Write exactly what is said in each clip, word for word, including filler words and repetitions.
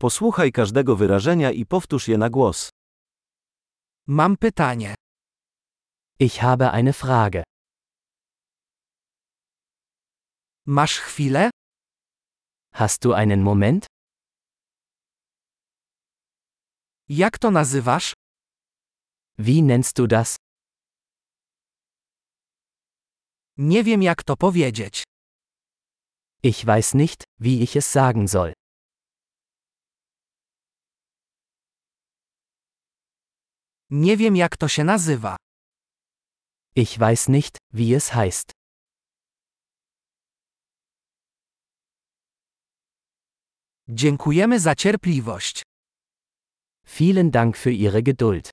Posłuchaj każdego wyrażenia i powtórz je na głos. Mam pytanie. Ich habe eine Frage. Masz chwilę? Hast du einen Moment? Jak to nazywasz? Wie nennst du das? Nie wiem jak to powiedzieć. Ich weiß nicht, wie ich es sagen soll. Nie wiem jak to się nazywa. Ich weiß nicht, wie es heißt. Dziękujemy za cierpliwość. Vielen Dank für Ihre Geduld.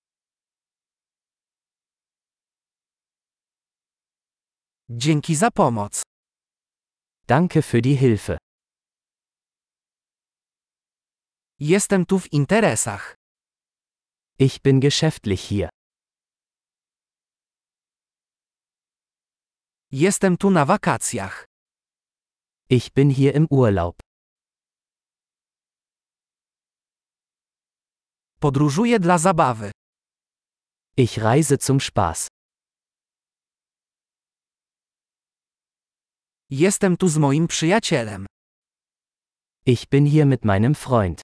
Dzięki za pomoc. Danke für die Hilfe. Jestem tu w interesach. Ich bin geschäftlich hier. Jestem tu na wakacjach. Ich bin hier im Urlaub. Podróżuję dla zabawy. Ich reise zum Spaß. Jestem tu z moim przyjacielem. Ich bin hier mit meinem Freund.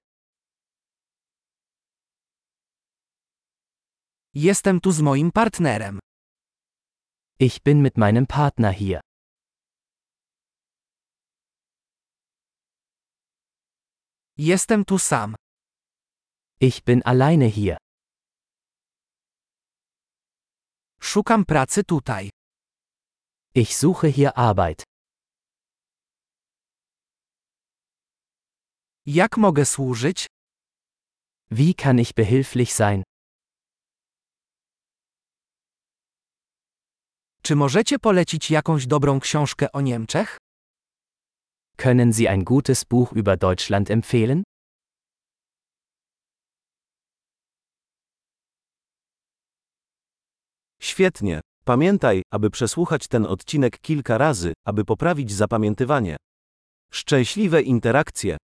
Jestem tu z moim partnerem. Ich bin mit meinem Partner hier. Jestem tu sam. Ich bin alleine hier. Szukam pracy tutaj. Ich suche hier Arbeit. Jak mogę służyć? Wie kann ich behilflich sein? Czy możecie polecić jakąś dobrą książkę o Niemczech? Können Sie ein gutes Buch über Deutschland empfehlen? Świetnie. Pamiętaj, aby przesłuchać ten odcinek kilka razy, aby poprawić zapamiętywanie. Szczęśliwe interakcje!